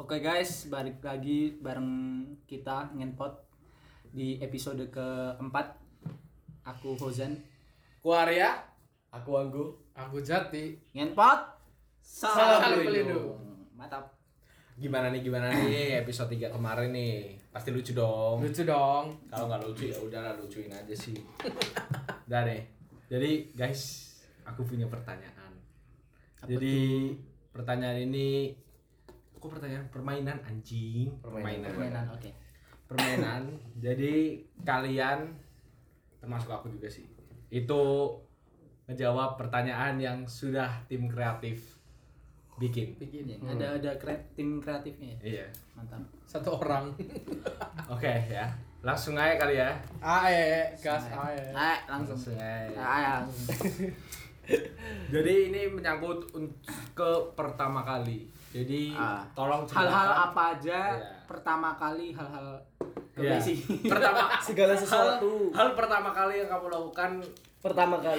Oke guys, balik lagi bareng kita Ngenpot di episode keempat. Aku Hozan, Aku Arya, Aku Anggu, aku Jati. Ngenpot Salam pelindung. Mantap. Gimana nih episode 3 kemarin nih? Pasti lucu dong. Lucu dong. Kalau nggak lucu ya udahlah, lucuin aja sih. Udah deh. Jadi guys, aku punya pertanyaan. Pertanyaan ini pertanyaan permainan anjing. Permainan, oke. Permainan. Jadi kalian termasuk aku juga sih. Itu ngejawab pertanyaan yang sudah tim kreatif bikin. Ya, ada tim kreatifnya ya? Iya. Mantap. Satu orang. Oke ya. Langsung aja kali ya. Gas ae. Langsung. Langsung. Jadi ini menyangkut ke pertama kali. Jadi tolong hal-hal ceritakan apa aja Iya. pertama kali hal-hal Iya. sih. Pertama segala sesuatu hal pertama kali yang kamu lakukan pertama kali.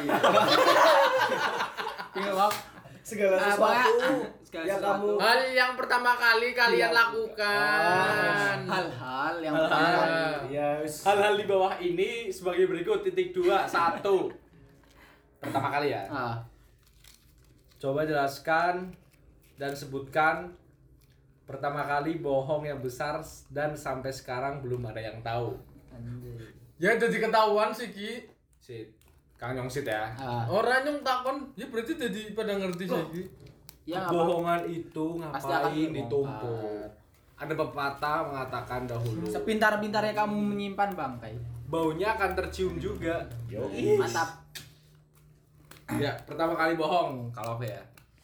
Segala sesuatu yang kamu Hal yang pertama kali kalian lakukan. Hal-hal yang hal-hal di bawah ini sebagai berikut. 1 pertama kali ya. Coba jelaskan dan sebutkan pertama kali bohong yang besar dan sampai sekarang belum ada yang tahu. Ya jadi ketahuan sih Ki. Sit, Kang Nyongsit ya. Orang yang takon, ya berarti jadi pada ngerti sih Ki. Ya, Kebohongan itu Pasti akan ngapain terbongkar. ditumpuk? Ada pepatah mengatakan dahulu, sepintar-pintarnya kamu menyimpan bangkai. baunya akan tercium juga. Mantap. Ya, pertama kali bohong kalau aku ya.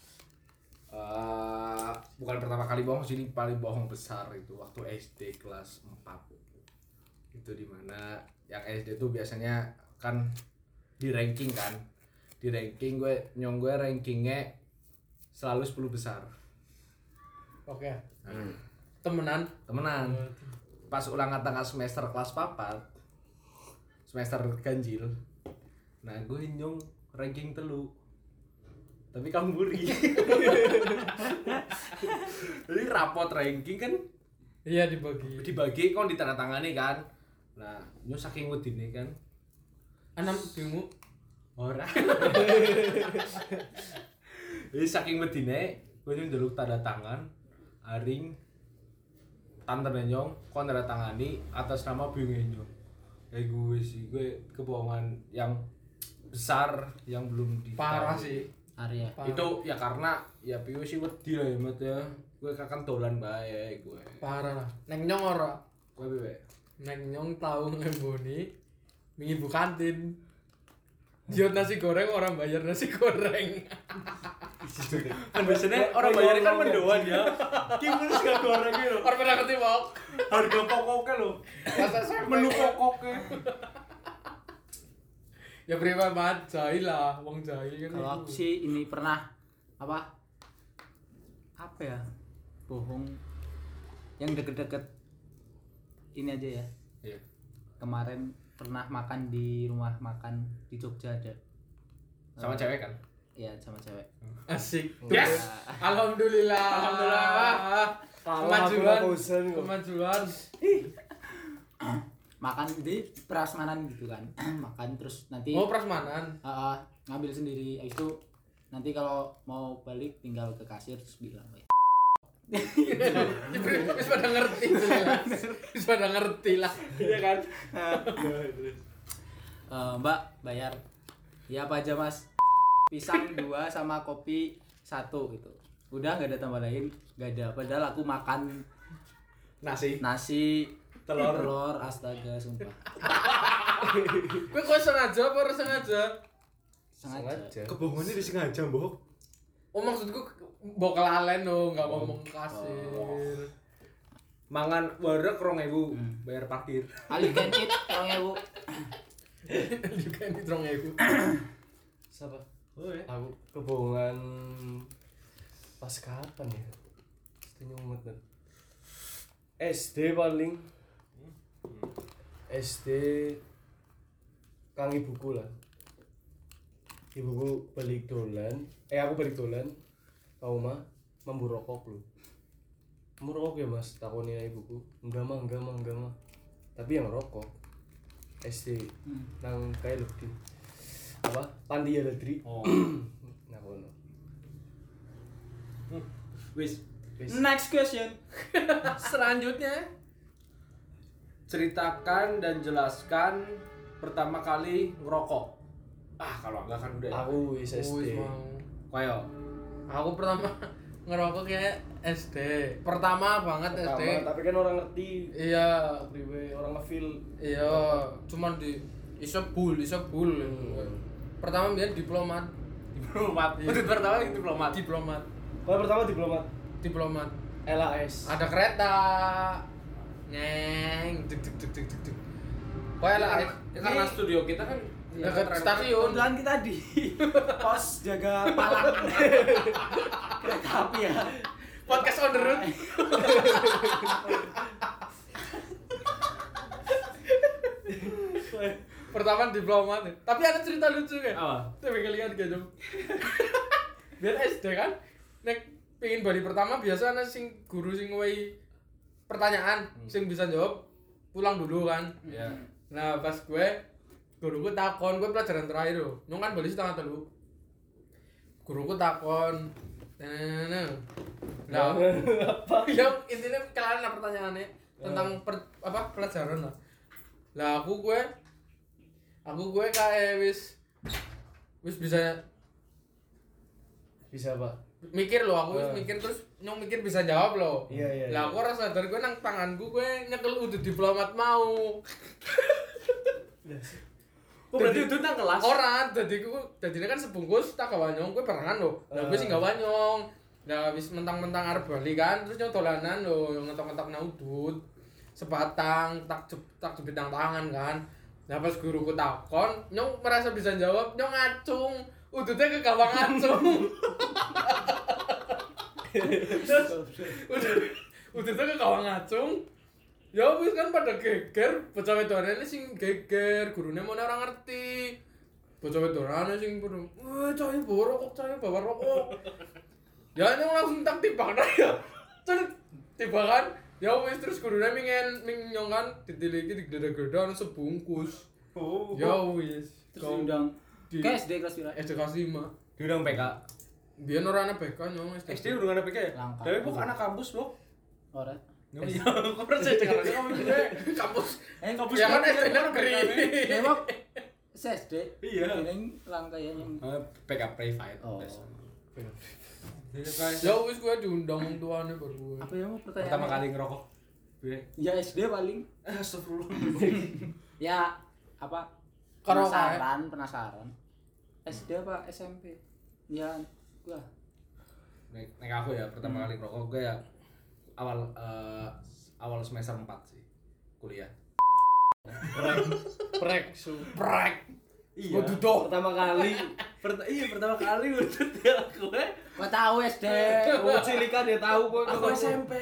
Bukan pertama kali bohong sih, ini paling bohong besar itu waktu SD kelas 4. Itu dimana yang SD tuh biasanya kan di ranking kan. Di ranking gue rankingnya selalu 10 besar. Oke. Temenan. Pas ulangan tengah semester kelas 4, semester ganjil. Nah, gue nyong ranking telu. Tapi kamu buri. Jadi rapot ranking kan Iya dibagi kan ditandatangani kan. Nah, nyong saking wedine kan. Enam bingung. Ora. Jadi saking wedine, gue njaluk tanda tangan aring tante nyong kon tanda tangani atas nama bingung nyong. Kayak gue sih, gue kebohongan yang besar yang belum ditahu. Parah sih. Arya. Itu ya karena ya piye sih wedi lah ya Mat ya. Gue kakan dolan bae gue. Parah lah. Neng nyong ora. Gue piye? Neng nyong tahu ngemboni mingi bu kantin. Jiot nasi goreng orang bayar nasi goreng. Kan biasanya orang bayarnya kan mendoan ya. Gimana sih gak goreng gitu. Orang pernah ngerti mau. Harga pokoknya loh. Menu pokoknya. Ya berapa banget jahil lah, wong jahil kan. Kalau aku sih ini pernah apa ya, bohong yang deket-deket ini aja ya. Iya. Kemarin pernah makan di rumah makan di Jogja ada. Sama cewek kan? Iya, sama cewek. Asik. Yes. Alhamdulillah. Kemajuan. Makan di prasmanan gitu kan. Makan terus nanti Oh, prasmanan. ngambil sendiri. Habis itu nanti kalau mau balik tinggal ke kasir terus bilang, Wis pada ngerti lah. Iya kan? Mbak bayar ya apa aja Mas? Pisang 2 sama kopi 1 gitu. Udah nggak ada tambah lain, nggak ada. Padahal aku makan nasi telur astaga sumpah. Kowe kok sengaja apa ora sengaja? Sengaja. Kebohongannya disengaja, Mbok. Oh, maksudku mbok kelalen lo, enggak ngomong kasir. Mangan wareg 2.000, bayar parkir. Ali kencit 2.000. Juga ini 2.000. siapa? Oh ya. Aku kebohongan pas kapan ya? Setengah umur SD paling. SD kang ibuku lah. Ibuku balik dolan. Aku balik dolan. Ke rumah mambu rokok lho. Merokok ya mas, takoni ibuku. Enggak mah. Tapi yang rokok SD nang kayak lebih apa? Panti ya Ledri. Oh. Nah kono. Wis, Next question. Selanjutnya ceritakan dan jelaskan pertama kali ngerokok. Kalau enggak kan udah. Aku wis SD. Koyo. Aku pertama ngerokok kayak SD. Pertama banget SD. Tapi kan orang ngerti. Iya, Priwe orang ngefeel. iya, cuman di isebul. Pertama biar diplomat. Diplomat. Itu pertama diplomat. Kalau pertama diplomat LAS. Ada kereta. Neng, deg. Pokoknya LAS. Karena studio kita kan Dekat stasiun. Kebetulan kita di pos jaga palang kereta api ya. Podcast on the road. Pertama diplomat. Tapi ada cerita lucu kan? Apa? Tapi kalian gak jauh. Biar SD kan, nek pingin bari pertama biasa ana sing guru sing ngowehi pertanyaan, sing bisa jawab pulang dulu kan. Iya. Nah pas guruku takon, gue pelajaran terakhir loh, nyong kan balik setengah telu. Guruku takon, nah, apa? Ya intinya kalian lah pertanyaannya tentang pelajaran lah. Lah aku gue kayak wis bisa Pak. mikir loh, aku wis mikir terus nyong mikir bisa jawab loh. Iya. Lah aku rasa dari gue nang tanganku gue nyekel udah diplomat mau. Oh berarti itu nang kelas? Orang, jadi kan sebungkus tak kawanyong, gue barengan loh. Nah gue sih gak wanyong. Nah wis mentang-mentang arep bali kan, terus nyong dolanan loh, ngetok-ngetok nang udut. Sebatang, tak jepit nang tangan kan. Nah pas guruku takon, nyong merasa bisa jawab, nyong ngacung. Udutnya ke gawang ngacung. Udutnya ke gawang ngacung. Ya wis kan pada geger, bocah wedokane sing geger, gurune mau orang ngerti. Bocah wedokane sing pada, cah bawa rokok. Ya nyong langsung tak timbang ya. Terus timbangan, ya wis terus gurune nyong kan ditiliki digedhe-gedhe sebungkus. Oh. Ya wis. Terus diundang ke SD kelas pira? SD kelas 5. Diundang PK. Biyen ora ana BK nyong SD udah ada PK ya? Langka. Tapi bukan anak kampus loh. Ora. Iya, kok percaya dengan kamu juga kampus. kampus Ya kan kan SD negeri. Memang SD. Iya. Ini langka ya yang PK private. Oh. Ya wis gue diundang wong tuane baru gue. Apa yang mau pertanyaan? Pertama kali ngerokok. Ya SD paling. Astagfirullah. Ya apa? Karo Penasaran. SD apa SMP? Ya gua. Nek aku ya pertama kali ngerokok gue ya awal semester 4 sih kuliah. Prek. Iya. Waduh doh. Pertama kali. Pertama kali udut ya gue. Gua tahu SD. Oh, cilikan ya tahu kok. Aku SMP.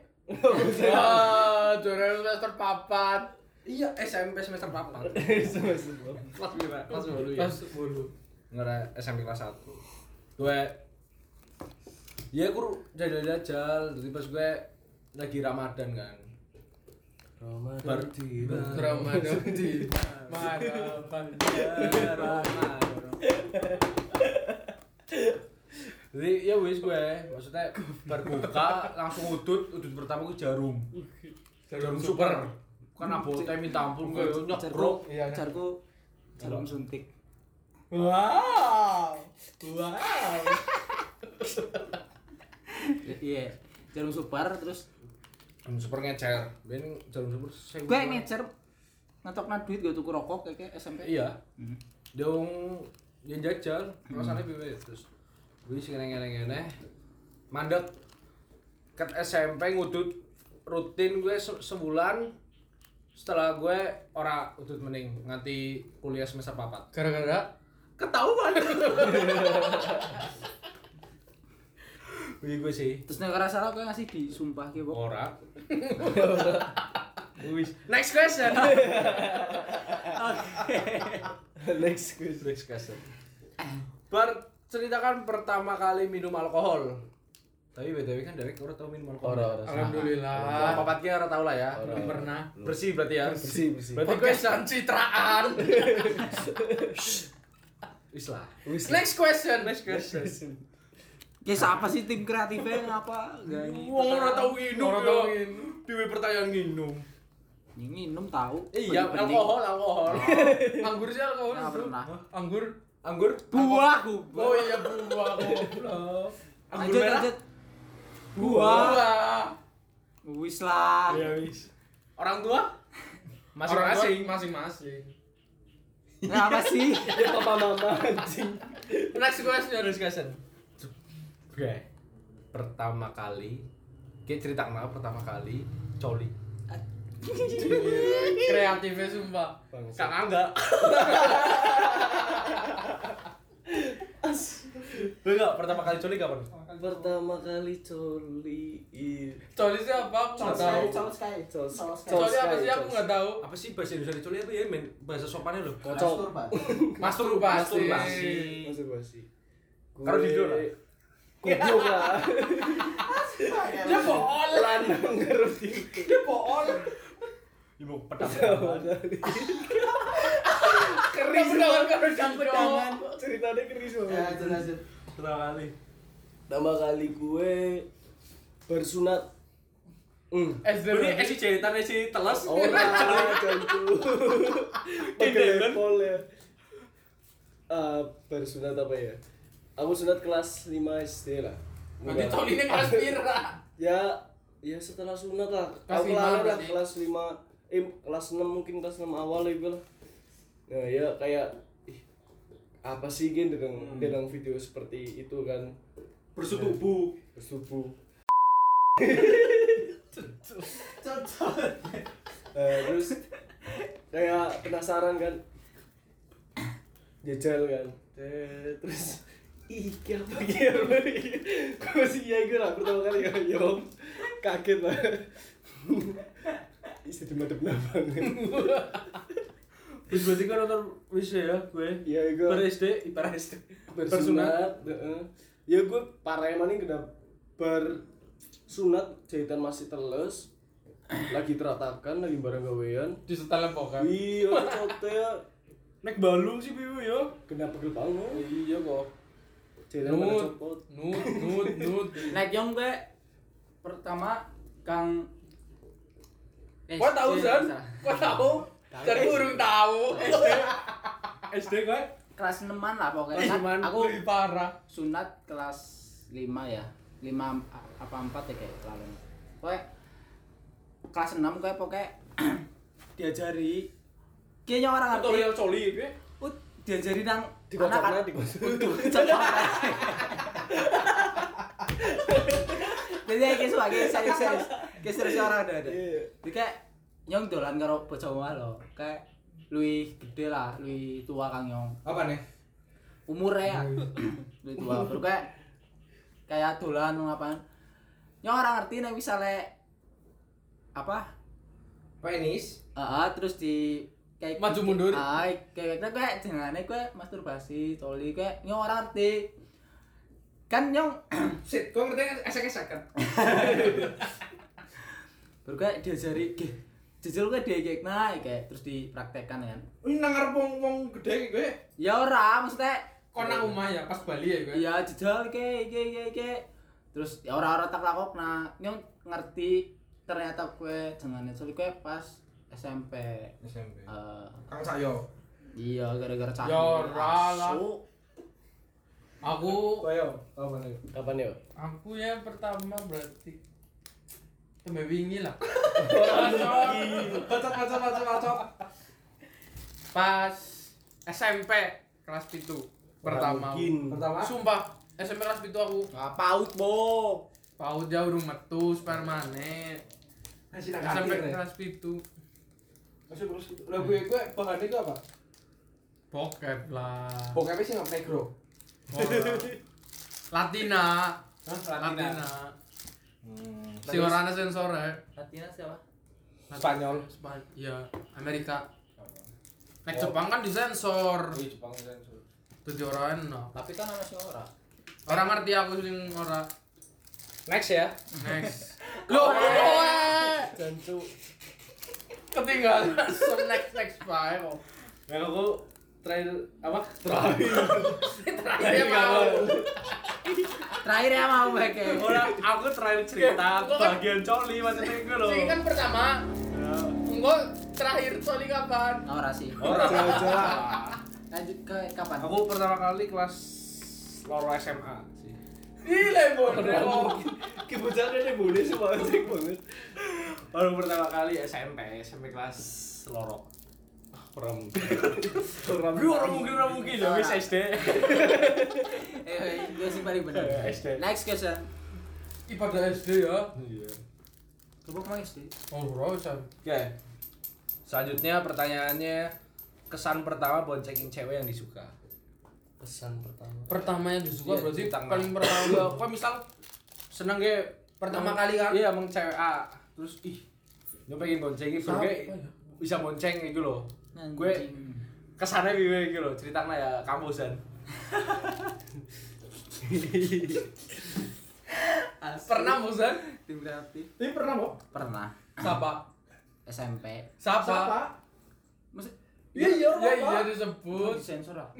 Wah, juara semester 4. Iya, SMP semester 4. Kelas berapa? Kelas 10 ya. Kelas 10. Ngera SMP kelas 1. Gue ya aku jajal jadi pas gue lagi Ramadan kan. Ramadan tiba. Ramadan di Ramadan. Jadi ya wis gue, maksudnya berbuka langsung udut pertama gue jarum super. Kan abote minta ampun gue nyebrok. Iya. Jarku jarum suntik. Wow. Iya, jarum super terus Jarum super ngecer. Ben jarum super saya. gue ngecer ngetokna duit gue tuku rokok kayak SMP. Iya. Dong yang jajal, rasanya piye terus. Gue sing ngene-ngene mandek ket SMP ngudut rutin gue sebulan. Setelah gue ora udut mending nganti kuliah semester 4. Gara-gara Ketahuan. Wih gue sih. Terus nek ora salah gue ngasih disumpah ki, Bok. Ora. Wis. Next question. Next question. Next question. Ceritakan pertama kali minum alkohol. Tapi BTW kan Derek ora tau minum alkohol. Ora. Alhamdulillah. Papatnya ora tau lah ya. Belum pernah. Bersih berarti ya. Bersih. Berarti Podcastan citraan. wis lah. Next question. Kisah apa sih tim kreatifnya ngapa? Wong ora tau nginum Ora yo. tau nginum. Dewe pertanyaan nginum. Minum tahu. Iya, Penting. alkohol. Anggur sih alkohol. Nggak Bro. pernah. Anggur. Anggur? Buah. Oh iya buah goblok. Anggur merah? Buah. Wis lah. Iya wis. Orang tua? Orang tua Masing-masing. masing-masing. Apa sih? Ya papa-mama anjing. Next question. Oke. Pertama kali cerita kenal pertama kali coli. Kreatifnya sumpah. Kak Angga. Enggak, pertama kali coli kapan? Pertama kali coli. Coli sih apa? Aku nggak tahu. Coli apa sih? Aku nggak tahu. Apa sih bahasa Indonesia coli apa ya? Bahasa sopannya loh. Kocok. Masturbasi. Masturbasi. Karo Dido lah. Goblok lah. Dia bohong. Lanang karo Dido. Dia bohong. Ibu pedang. Keris banget karo Pedangan. Ceritanya keris banget. Lanjut. Pertama kali. Pertama kali gue bersunat. SD Ini si jahitan si teles. Orang jancu. Pakai lepol ya. Bersunat apa ya? Aku sunat kelas 5 SD lah. Berarti colinya kelas pira? Ya setelah sunat lah. Kelas Aku 5 lah berarti? kelas 5 kelas 6 mungkin kelas 6 awal itu lah. Nah, ya kayak apa sih gen dengan video seperti itu kan Bersetubuh. bersubuh. Terus kayak penasaran kan. Jajal kan. Terus iki apa iki? Kok sih ya gue lah pertama kali ya, yo kaget lah. Isi dimadep nabang. Wis berarti kan nonton wis ya gue. Iya gue SD, ipar SD. bersunat. Ya gue parah emang ini kena bersunat jahitan masih teles. Lagi teratakan, lagi bareng gawean. Di setelan pokan. Iya, cote Nek balung sih biu yo. kena pegel banget. Iya kok. Jahitan pada copot. Nut. Naik yang gue pertama Kang. Kau tahu San? Kau tahu? Jadi urung tahu. SD gue. Kelas 6-an lah pokoknya. Kelas Kan 6-an. aku Lebih parah. sunat kelas 5 ya. 5 apa 4 ya kayak lalu. Pokoknya kelas 6 kayak pokoknya diajari kayaknya orang ngerti. Tutorial coli gue. Diajari nang Dikocoknya dikocok. Jadi kayak suara kayak serius orang ada. Iya. Jadi kayak nyong dolan karo bocah omah lho. Kayak luwih gede lah, luwih tua Kang Nyong. Apa nih? Umurnya ya. Luwih tua. Baru kayak dolan ngapain. Nyong orang ngerti nek misale apa? Penis. Terus di kayak Maju mundur. kayak jenengane kowe masturbasi, coli kayak nyong orang ngerti. Kan nyong Sit, kok ngerti esek-esek kan? baru kayak diajari jejel kayak diekekna kayak terus dipraktekkan kan. Ini nang ngarep wong gede gue. Ya ora, maksudnya Kau nang omah ya pas Bali ya gue. iya jejel kayak terus ya ora-ora tak lakokna. Nyong ngerti ternyata kowe jengane coli kowe pas SMP. SMP. Eh, Kang Sayo. iya gara-gara cah. Ya ora lah. Asu. Aku Ayo, apa nih? Kapan ya? Aku yang pertama berarti tembe wingi lah. Bacot. Pas SMP kelas 7 pertama. Mungkin. Pertama. Sumpah SMP kelas 7 aku Paut, Bo. paut jauh urung metu permanen. Masih nang SMP kantin. kelas 7 Masih terus. Lah gue bahannya itu apa? bokep lah. Bokepnya sih nggak negro. Latina. Hah? Latina. Si orang ada sensor ya. Latina siapa? Spanyol. Iya, Amerika. Nek Jepang kan disensor. Wih, Jepang sensor. Jadi orang enak. Tapi kan ana sing ora. Orang ngerti aku sing ora. Next ya. Next. Loh, Jancu. ketinggalan next bae kok. Nah, aku terakhir apa? Terakhir mau. Terakhir ya mau beke. Aku terakhir cerita bagian coli maksudnya gue loh. Sing kan pertama. Engko terakhir Soli kapan? Ora sih. Jalan-jalan. Lanjut ke kapan? Aku pertama kali kelas loro SMA sih. Gile bodoh. Kebetulan ini boleh sih banget banget. Baru pertama kali SMP kelas loro. Orang Orang mungkin ya wis SD. Gue sih paling bener. SD. Next question. Ibadah SD ya. Iya. Coba mau SD. Oh, rasa. Oke. Selanjutnya pertanyaannya kesan pertama boncengin cewek yang disuka. Pesan pertama. Pertama yang disuka Iya, berarti tentang paling ya, pertama. kok misal seneng ge Pertama kali kan? Iya, emang cewek A. Terus gue pengen boncengin Siapa gue ya? bisa bonceng gitu loh. Anjing. Gue kesannya piye gitu loh, ceritanya ya kampusan. Pernah bosan? Tim kreatif. Ini pernah kok? Pernah. Siapa? SMP. Siapa? Masih Iya disebut. sensor lah.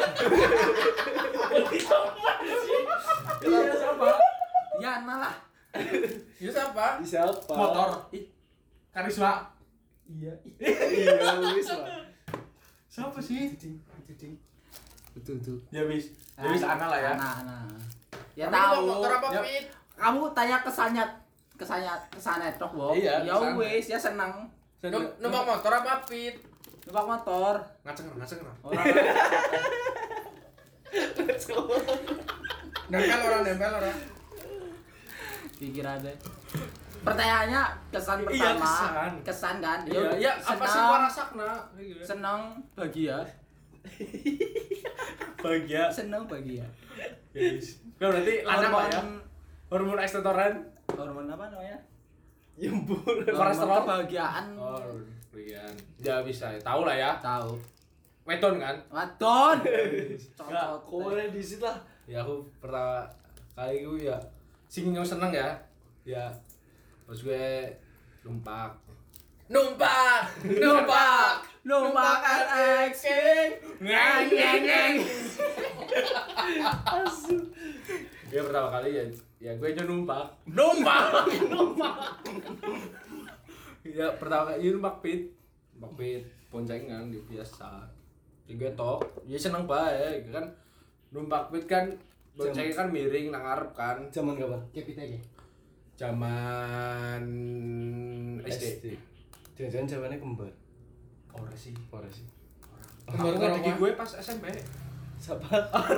Iya siapa? Yana lah. Iya siapa? Siapa? Motor. Karisma. Iya wis lah. Siapa sih? Betul. Ya wis. Ya wis Ana lah ya. Ana. Ya Tapi kok tahu. motor apa Ya. Fit? Kamu tanya kesannya tok, Bo. Iya, Ya kesannya. wis, ya seneng. Numpak motor apa Fit? Numpak motor. Ngaceng. Orang Nempel orang. pikir ada. Pertanyaannya kesan Iya, pertama. kesan. Kesan kan? Iya, apa sih gua rasakna? Seneng, bahagia. Bahagia. Seneng, bahagia. Guys. Nah, berarti lanang lah ya. Hormon ekstatoran. Hormon apa namanya? Yembur. Hormon Kolesterol. kebahagiaan. Oh, Rian. Ya bisa, tahu lah ya. Tahu. Weton kan? Wadon. Enggak, Kowe di situ lah. Ya aku pertama kali gue ya sing yang seneng ya. Ya. Terus gue numpak. Numpak. Numpak RX King. Ngeng. Ya pertama kali ya gue aja numpak. Ya pertama kali numpak pit boncengan di biasa. Di gue tok, ya seneng bae kan numpak pit kan boncengnya kan miring nang ngarep kan. Zaman kapan? Kepit aja. Zaman SD. Jangan-jangan jawabannya kembar. Ora sih. Kembar Aku karo ngadegi apa? gue pas SMP. Siapa?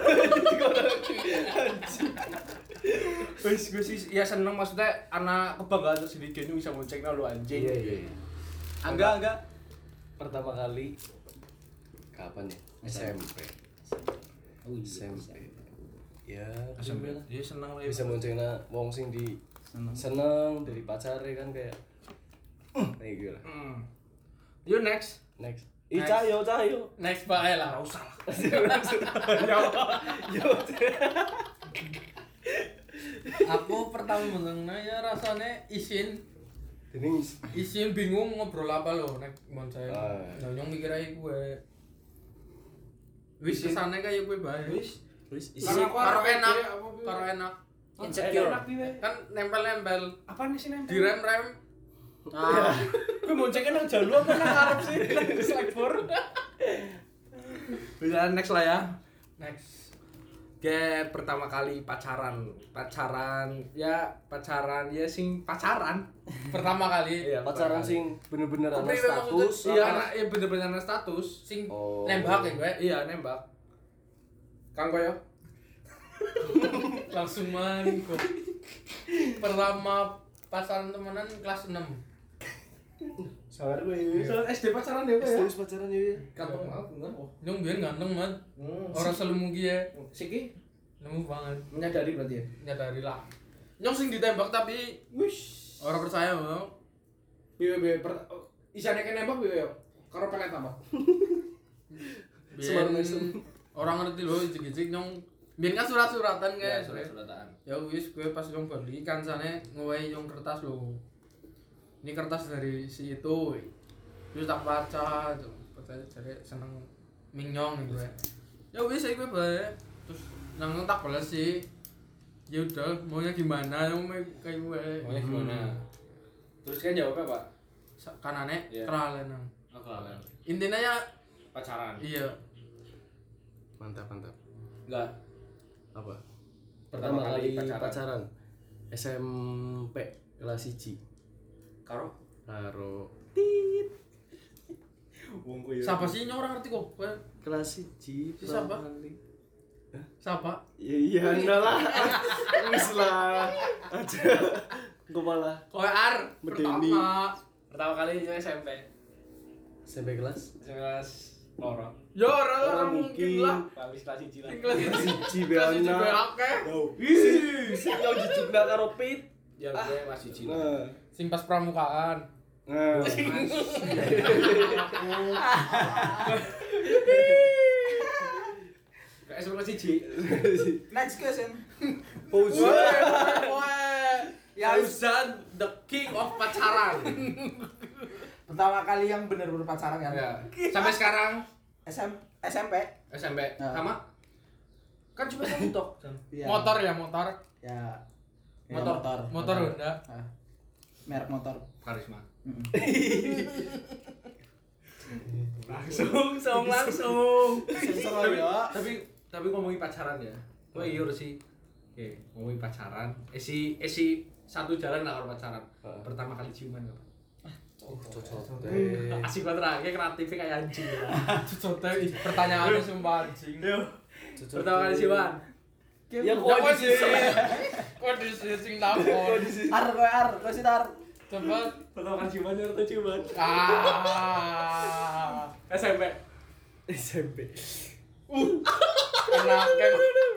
Wis gue sih ya seneng maksudnya anak kebanggaan tersendiri dia bisa boncengnya lu anjing. Iya. Enggak. Pertama kali kapan ya? SMP. Oh iya. SMP. Ya, SMP SMP lah. dia seneng lah. Bisa boncengna wong sing di Seneng. seneng dari pacare kan kayak kayak gitu lah. You next. Next. Next. Cahyo. Next bae lah. Enggak usah lah. Aku pertama menengna ya rasanya isin Ini bingung ngobrol apa lo nek mon saya. Ah. Nyong mikir aja gue. Wis kesane kaya gue bae. Wis. Karo enak. Insecure. Kan nempel-nempel. Apa nih sih nempel? Direm-rem. Ah, Gue boncengnya nang jalur apa nang ngarep sih? Nang slackboard. Bisa next lah ya. Next. Kayak pertama kali pacaran ya sing pacaran. Pertama kali Iya, pacaran sing bener-bener ana Kepriwe maksudnya? status. Iya, apa? anak ya bener-bener anak status. sing Oh. nembak ya gue. Iya, nembak. Kang koyo. Langsung main kok. Pertama pacaran temenan kelas 6. Sangar gue. SD pacaran ya kok ya. Terus pacaran ya. Kantong aku enggak. Nyong biyen ganteng man. Orang selemu ya. Siki Nemu banget. menyadari berarti ya. Nyadari lah. Nyong sing ditembak tapi Wish. orang percaya bang. Isane kene nembak piye yo? Karo pelet apa? Semar Biyen mesem. orang ngerti loh icik-icik nyong Biyen kan surat-suratan Ya, guys. surat-suratan. Ya wis gue pas nang Bali kancane ngowehi yang kertas lho. Ini kertas dari si itu. Terus tak baca, baca jare seneng minyong gitu ya. Ya wis gue bae. Terus nang tak balas sih. Ya udah, maunya gimana? Yang mau kayak gue. Maunya gimana? Terus kan jawabnya apa? Kanane Iya. keralen nang. Oh, kenalan. Intinya ya Pacaran. iya. Mantap. Enggak. Apa? Pertama kali pacaran. SMP kelas 1. Karo Karo wongku ya. Siapa sih orang ngerti kok? Gue kelas 1 Siapa? siapa? Iya enggak lah. Wis lah. Aja. Engko malah Kowe ar Medeni. Pertama kali itu SMP. SMP kelas Kelas loro. Ya orang mungkin lah. Habis kelas 1 lah. Kelas siji kelas beana. juga akeh. Ih, yo dijugna karo Pit. Ya gue masih 1 lah. Nah. Sing pas pramukaan. Nah. Kayak sebelum kelas 1. Next question. Fauzan the king of pacaran. Pertama kali yang bener-bener pacaran kan? Ya. Sampai sekarang SMP. SMP Nah. sama kan cuma satu tok. Iya. Motor ya motor. Ya. Motor. Motor Honda. Ah. Merek motor. Karisma. Mm-mm. Langsung. Sensor ya. Tapi ngomongin pacaran ya. Kowe iya sih. Oke, ngomongin pacaran. Esi satu jalan lah kalau pacaran. Pertama kali ciuman apa? Cocok. Asik banget lah, kayak kreatifnya kayak anjing. Cocote pertanyaannya sumpah anjing. Pertama kali ciuman. Ya Kok kok di Kok di sing takon. Kowe sih tar. Coba Pertama kali ciuman atau ciuman? SMP. SMP. Enak kan.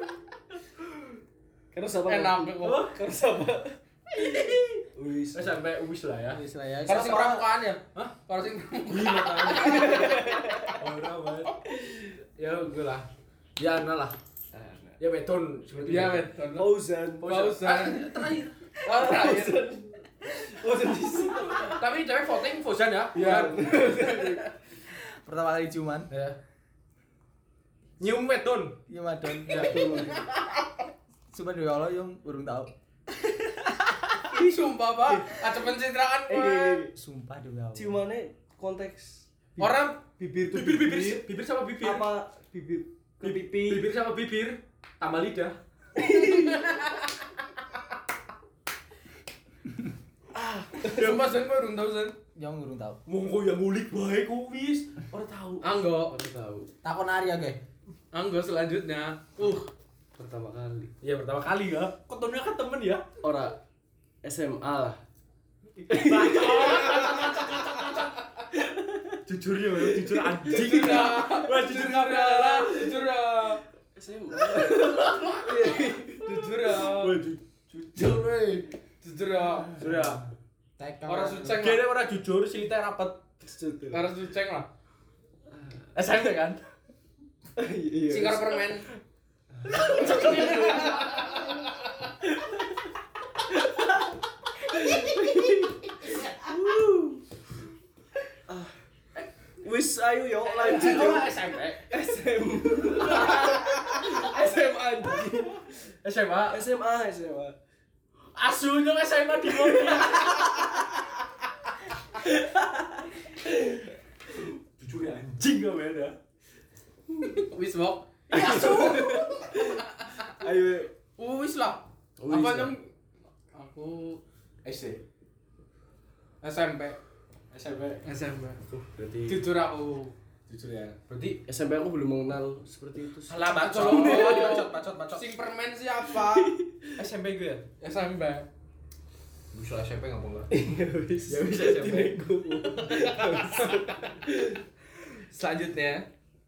Karo siapa? Enak kok. Karo siapa? Wis. SMP wis lah ya. Wis lah ya. Kalau sing pramukaan ya? Hah? Kalau sing pramukaan. Ora banget. Ya gue lah. Ya ana lah. Ya beton seperti Iya, itu. betul. Fauzan. Fauzan. Terakhir. Oh, terakhir. Fauzan di sini. Tapi cewek voting Fauzan ya. Iya. Pertama kali ciuman. Ya. Nyium beton. Iya madon. Ya. Cuman ya Allah yang burung tahu. Sumpah, Pak. Ada pencitraan kowe. Sumpah demi Allah. Ciumane konteks Orang bibir tuh Bibir sama bibir. apa bibir ke pipi. Bibir sama bibir tambah lidah. sumpah sen kowe urung tau sen. Yang burung tahu. Monggo yang ngulik bae ku wis. Ora tahu. Anggo. Baru tahu Takon Arya ge. Anggo selanjutnya. pertama kali. Iya pertama kali ya. Ketemunya kan temen ya. Ora SMA lah. Jujur ya, jujur anjing. Jujur ya. Wah jujur Jujur ya. Jujur ya. SMA. Jujur ya. Jujur weh. Jujur ya. Jujur ya. TK. Orang suceng Kene lah. ora jujur, silite rapet. Orang suceng lah. SMP kan? Iya. Sing karo permen. Wis ayo yo lanjut yo. SMP. SMA anjing. SMA. SMA. Asu nyong SMA di mobil. Jujur ya anjing gak beda. Wis wok. Ayo. Wis lah. Wis Apa lah. yang aku SD. SMP. SMP. Berarti Jujur aku. Jujur ya. Berarti SMP aku belum mengenal seperti itu. salah bacot. Oh. Bacot. Sing permen siapa? SMP gue ya. SMP. Bisa SMP enggak boleh. Wis. Ya bisa SMP. Selanjutnya.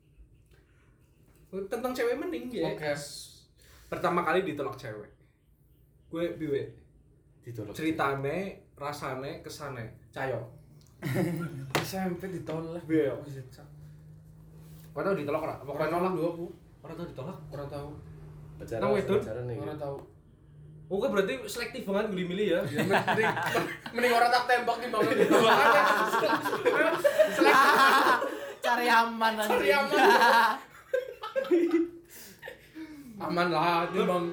Tentang cewek mending ya. Oke. Pertama kali ditolak cewek. Gue piwe? Ditolak. Ceritane, rasane, kesane. Cayo. SMP ditolak. Iya. Kau tahu ditolak ora? Apa kau nolak? Dulu aku. Orang tahu ditolak? Orang tahu. Nang wedon? Ora tau. Oke berarti selektif banget milih-milih ya. Ya mending ora tak tembak timbang ditembak. Cari aman anjing. Cari aman. Aman lah timbang.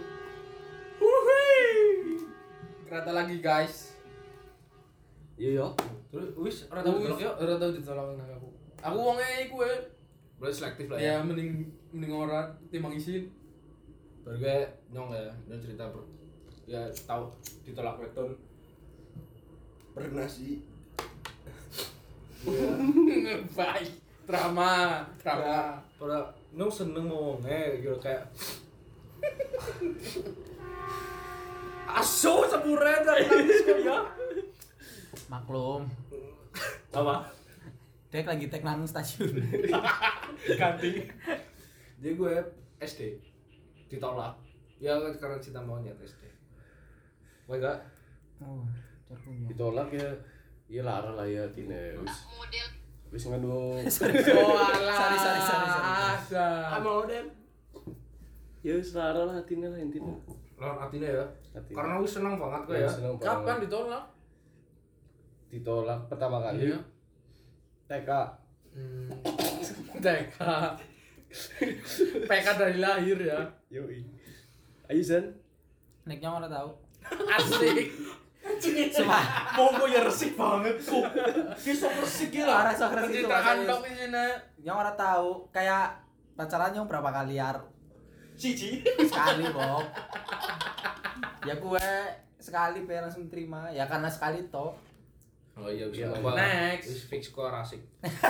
Kereta lagi guys. Iya yo. Terus wis ora tau ditolak yo. Ora tau ditolak nang aku. Aku wonge iku Berarti selektif lah ya ya. mending ora timbang isin. Baru gue nyong cerita ya tahu ditolak weton. Pernah sih. Baik. Drama. Ora nyong seneng ngomongnya gitu kayak asu sepure dan nangis kok ya. Maklum. Apa? Dek lagi tek nang stasiun. Ganti. Jadi gue SD ditolak. Ya karena cinta monyet SD. Gue enggak. Oh, punya. Ditolak ya. Iya larang lah ya tine wis nganu. Oh alah. Sorry. Model. Ya wis larang lah tine lah intine. Lawan artinya ya. Hati. Karena gue seneng banget gue ya. Seneng banget. Kapan ditolak? Ditolak pertama kali? Iya. TK. TK. PK dari lahir ya. Yoi. Ayo Zan. Neknya ora tahu. Asik. Sumpah. Monggo ya resik banget kok. Ki sok resik ya lah. Ora sok resik Cerita handok di sini. Yang ora tahu kayak pacaran yang berapa kali Siji. sekali, Bob. Ya gue sekali pe langsung terima. Ya karena sekali toh. Oh iya bisa. Iya, next. Wis fix kok rasik.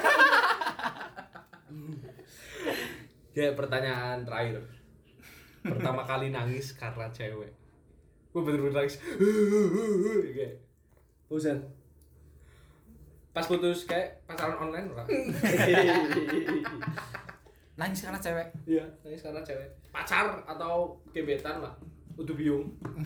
Kayak pertanyaan terakhir. Pertama kali nangis karena cewek. Gue bener-bener nangis. Kayak Zan. pas putus kayak pacaran online ora? Nangis karena cewek. Iya, nangis karena cewek. Pacar atau gebetan lah. Udah bingung.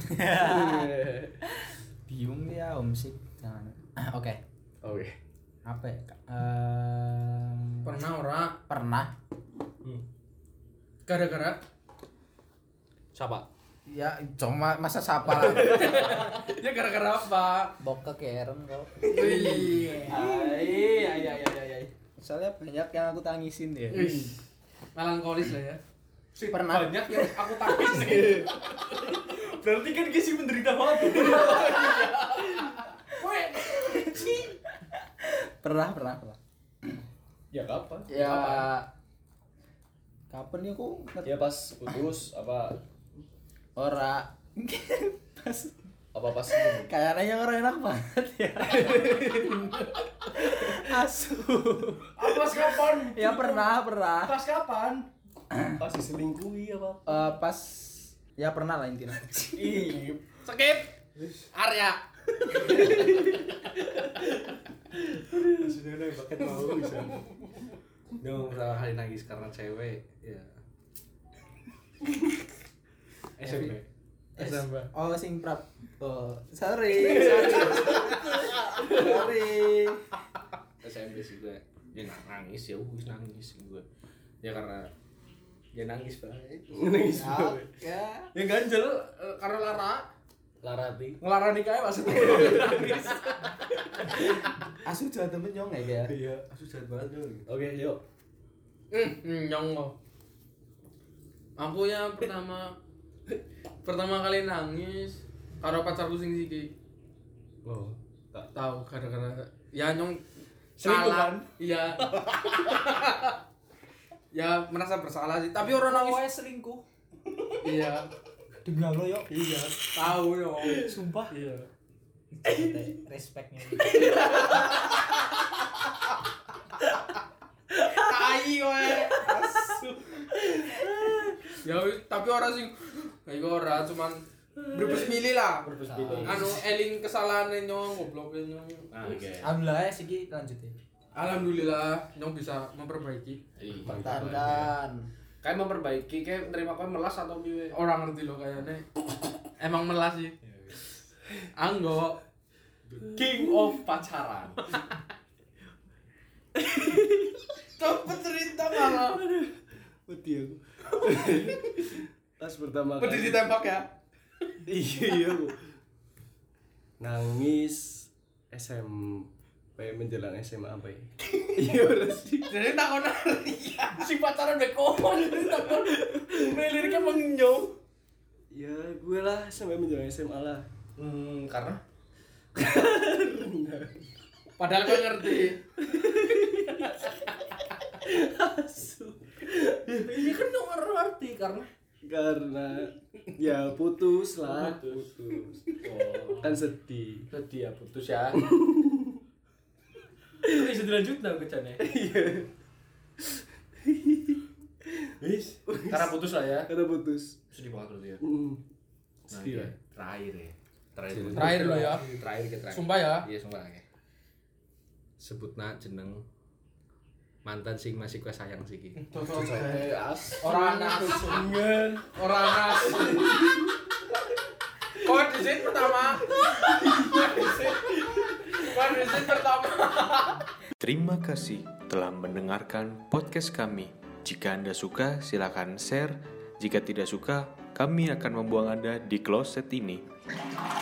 Bingung dia homesick. Jangan. Oke. Oke. Apa ya? Pernah ora? Pernah. Gara-gara Siapa? Ya cuma masa sapa lah. ya gara-gara apa? Bokek keren kok. Wih. Ai. Soalnya banyak yang aku tangisin ya. Wih. Melankolis lah ya. Pernah. Banyak yang aku tangis nih. Berarti kan Gisi menderita banget tuh. Pernah. Ya kapan? Ya kapan ya aku Ya pas putus apa ora pas pas kayaknya orang enak banget ya. Asu. Apa kapan? Ya pernah. Pas kapan? pas diselingkuhi apa? Pas ya pernah lah intinya. Ih, Skip. Arya. Sudah nih paket mau bisa. Dong pertama kali nangis karena cewek, ya. SMP. Oh sing prap. Oh, sorry. SMP sih gue. Ya nangis ya, nangis gue. Ya karena dia nangis banget. nangis Ya, banget. ya. Ya ganjel karena Lara. Larati. Ngelarani kayak maksudnya. Asu jahat temen nyong ya. Iya, aku jahat banget dong. Oke, yuk. Nyong kok. Aku yang pertama kali nangis karo pacarku sing siki. Oh, Tahu gara-gara ya nyong selingkuh salah. kan? Iya. Ya merasa bersalah sih, tapi orang nangis. Selingkuh. Iya. Demi Allah yo. Iya. Tahu yo. Sumpah. Iya. Respectnya. Tai kowe. Ya tapi orang sing kayak ora cuman berbes milih lah. Anu eling kesalahan nyong goblok nyong. Oke. Alhamdulillah ya siki lanjut ya. Alhamdulillah nyong bisa memperbaiki. Pertahankan. Kayak memperbaiki, kayak menerima kau melas atau piye? Orang ngerti loh kayaknya. Emang melas sih. Anggo King of pacaran. cepet cerita malah. Wedi aku. Pas pertama Pedih ditembak ya. Iya. Nangis SMP menjelang SMA apa ya? Iya sih. Jadi takon Si pacaran bekoman takon. Liriknya mengenyong. Ya gue lah sampai menjelang SMA lah. Karena padahal kau ngerti. ini kan nomor arti karena ya putus lah. Putus. Kan sedih. Sedih ya putus ya. Kok bisa dilanjut dah kecane? Iya. Wis, karena putus lah ya. Karena putus. Sedih banget berarti ya. Sedih lah. Terakhir ya. Terakhir lo ya. Terakhir. Sumpah ya. Iya, sumpah ya. Sebutna jeneng mantan sing masih kue sayang sih ki. Orang anas. Orang anas. Kondisi pertama. Kondisi pertama. Terima kasih telah mendengarkan podcast kami. Jika Anda suka, silakan share. Jika tidak suka, kami akan membuang Anda di kloset ini.